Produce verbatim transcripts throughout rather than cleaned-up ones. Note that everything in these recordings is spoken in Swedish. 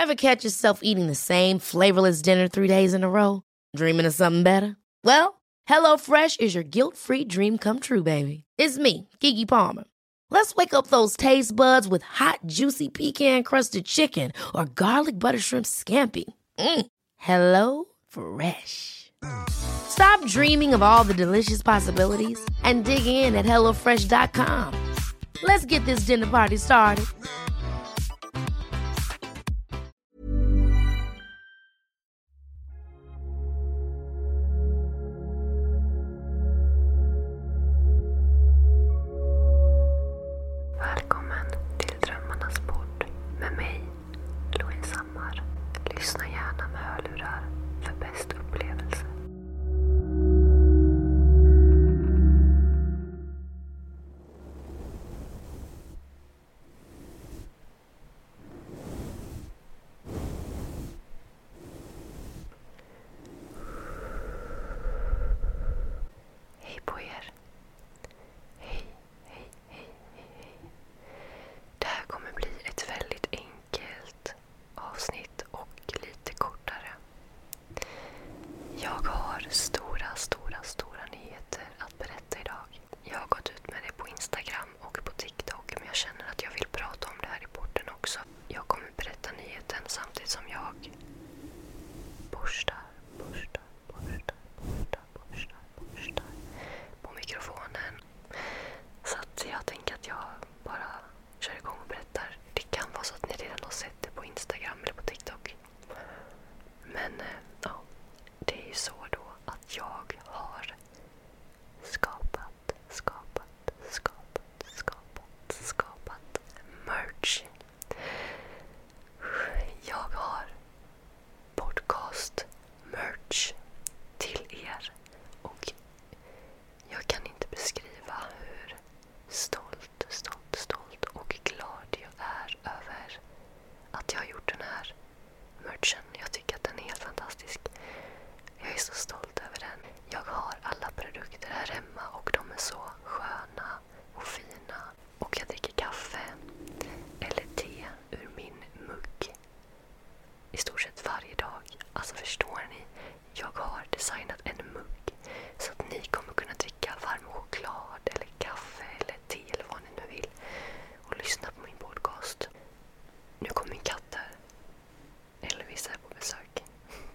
Ever catch yourself eating the same flavorless dinner three days in a row? Dreaming of something better? Well, HelloFresh is your guilt-free dream come true, baby. It's me, Keke Palmer. Let's wake up those taste buds with hot, juicy pecan-crusted chicken or garlic butter shrimp scampi. Mm. Hello Fresh. Stop dreaming of all the delicious possibilities and dig in at hello fresh dot com. Let's get this dinner party started. Välkommen till Drömmarnas podd med mig, Louise Hammar. Lyssna gärna med hörlurar för bäst upplevelse. Hej på er. Hej, hej, hej, hej, hej. Det här kommer bli ett väldigt enkelt avsnitt och lite kortare. Jag har stora, stora, stora nyheter att berätta idag. Jag har gått ut med det på Instagram och på TikTok, men jag känner att jag vill prata om det här i podden också. Jag kommer berätta nyheten samtidigt som jag borstar, borstar, borstar, borstar, borstar, borstar på mikrofonen. Så att jag tänker att jag bara kör igång och berättar. Det kan vara så att ni redan har sett det på Instagram eller på TikTok. Men eh, ja, det är ju så då att jag har skapat, skapat, skapat, skapat, skapat merch. Jag har podcast merch till er och jag kan inte beskriva hur stolt, stolt, stolt och glad jag är över att jag har gjort den här merchen. Jag tycker att den är helt fantastisk. Jag är så stolt över den. Jag har alla produkter här hemma och de är så sköna och fina. Och jag dricker kaffe eller te ur min mugg i stort sett varje dag. Alltså förstår ni? Jag har designat en mugg så att ni kommer kunna dricka varm choklad eller kaffe eller te eller vad ni nu vill och lyssna på min podcast. Nu kommer min katt här. Elvis är på besök.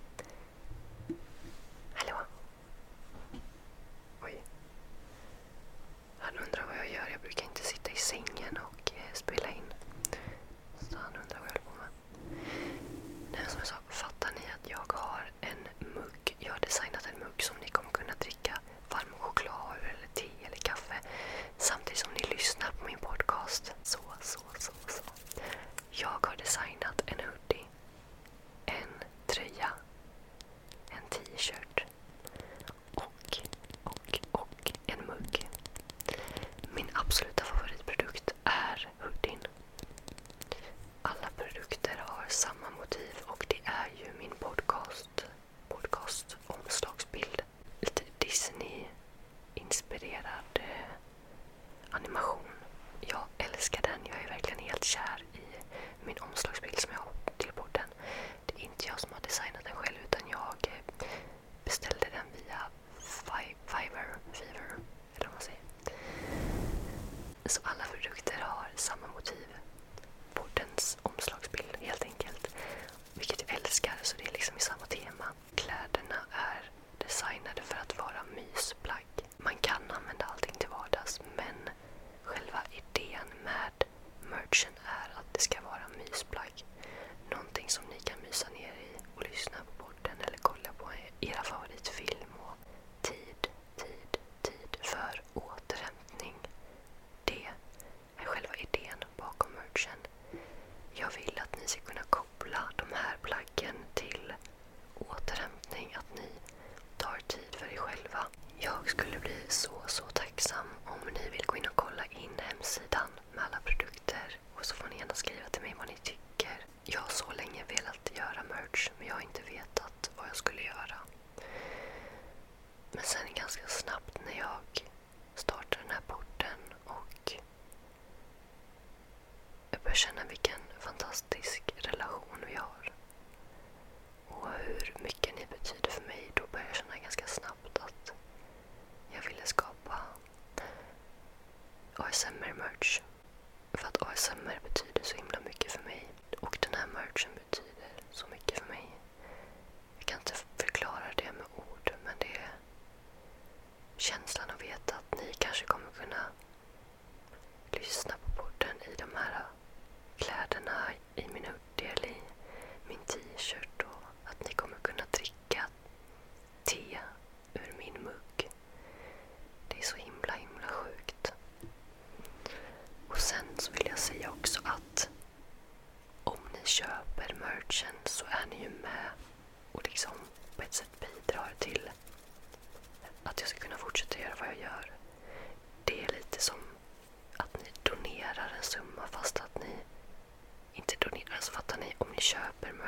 Hallå? Oj. Han undrar vad jag gör. Jag brukar inte sitta i sängen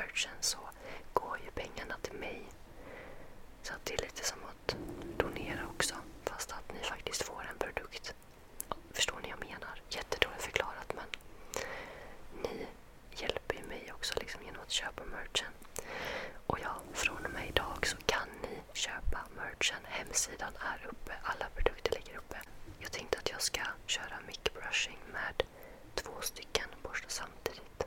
merchen så går ju pengarna till mig. Så att det är lite som att donera också, fast att ni faktiskt får en produkt. Förstår ni vad jag menar? Jättedåligt förklarat, men ni hjälper ju mig också liksom genom att köpa merchen. Och ja, från och med idag så kan ni köpa merchen. Hemsidan är uppe, alla produkter ligger uppe. Jag tänkte att jag ska köra mic brushing med två stycken borstar samtidigt.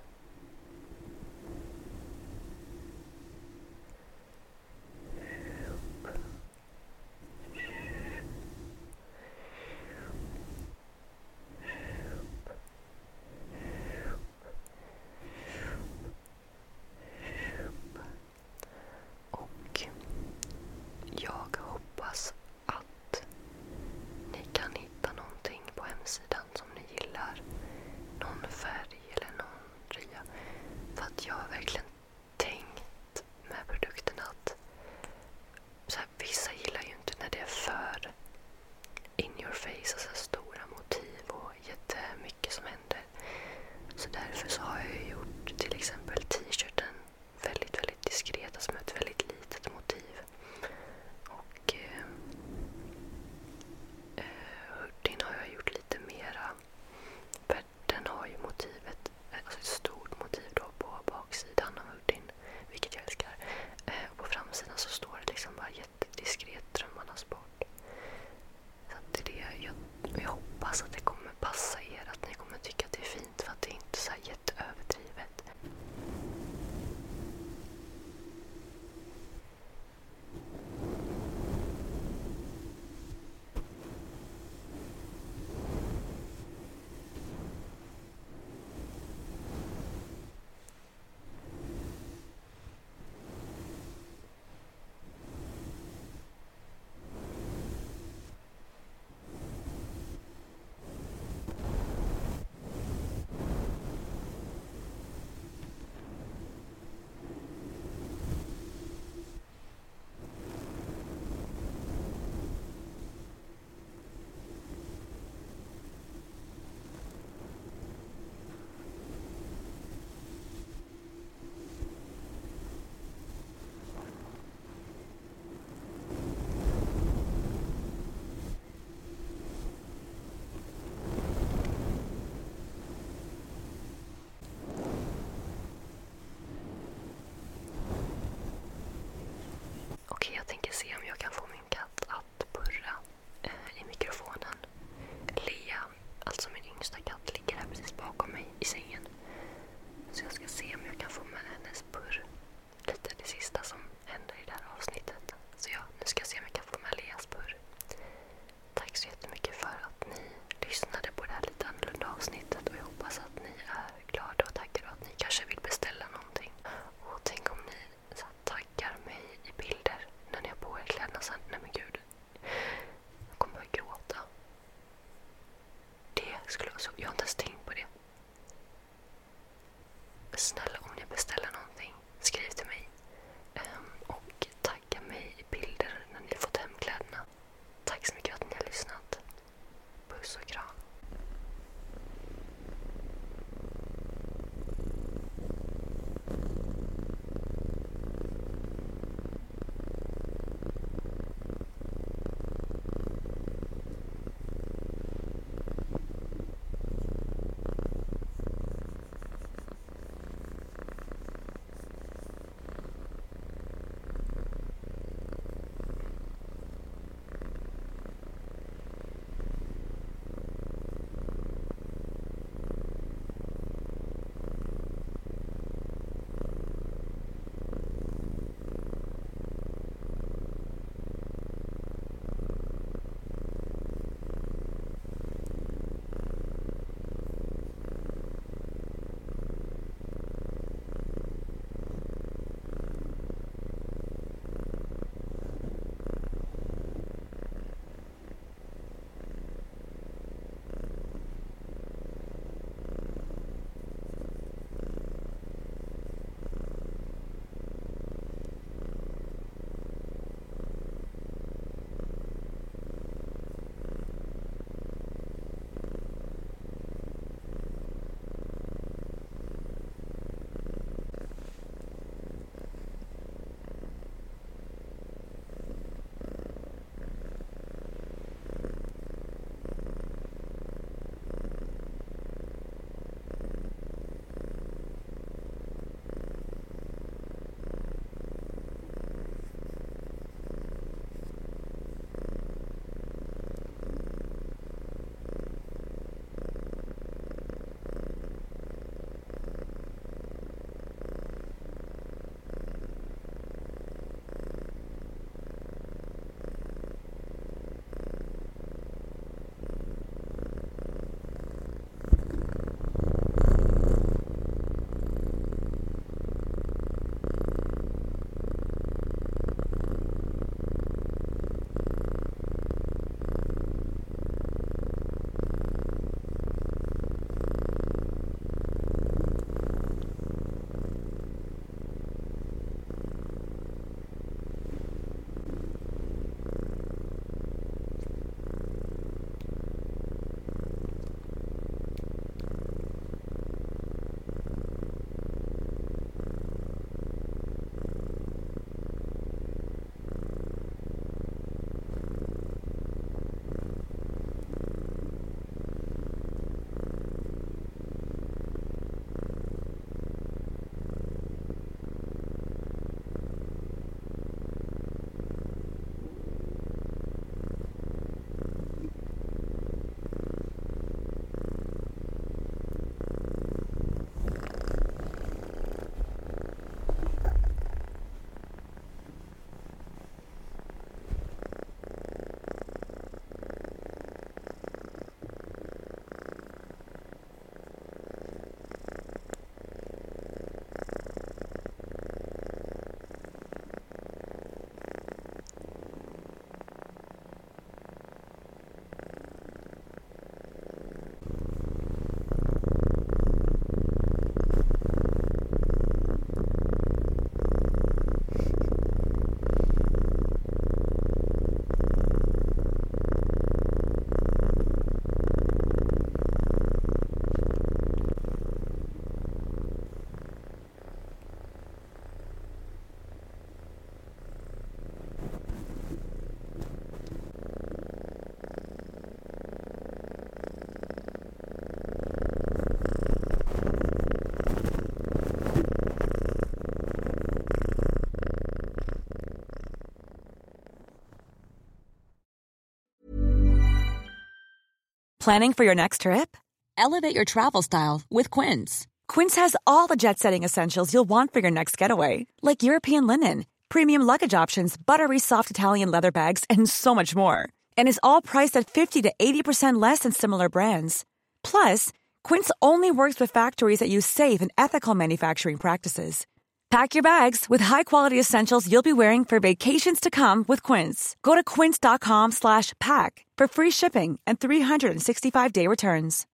Planning for your next trip? Elevate your travel style with Quince. Quince has all the jet-setting essentials you'll want for your next getaway, like European linen, premium luggage options, buttery soft Italian leather bags, and so much more. And is all priced at fifty to eighty percent less than similar brands. Plus, Quince only works with factories that use safe and ethical manufacturing practices. Pack your bags with high-quality essentials you'll be wearing for vacations to come with Quince. Go to quince.com slash pack for free shipping and three sixty-five day returns.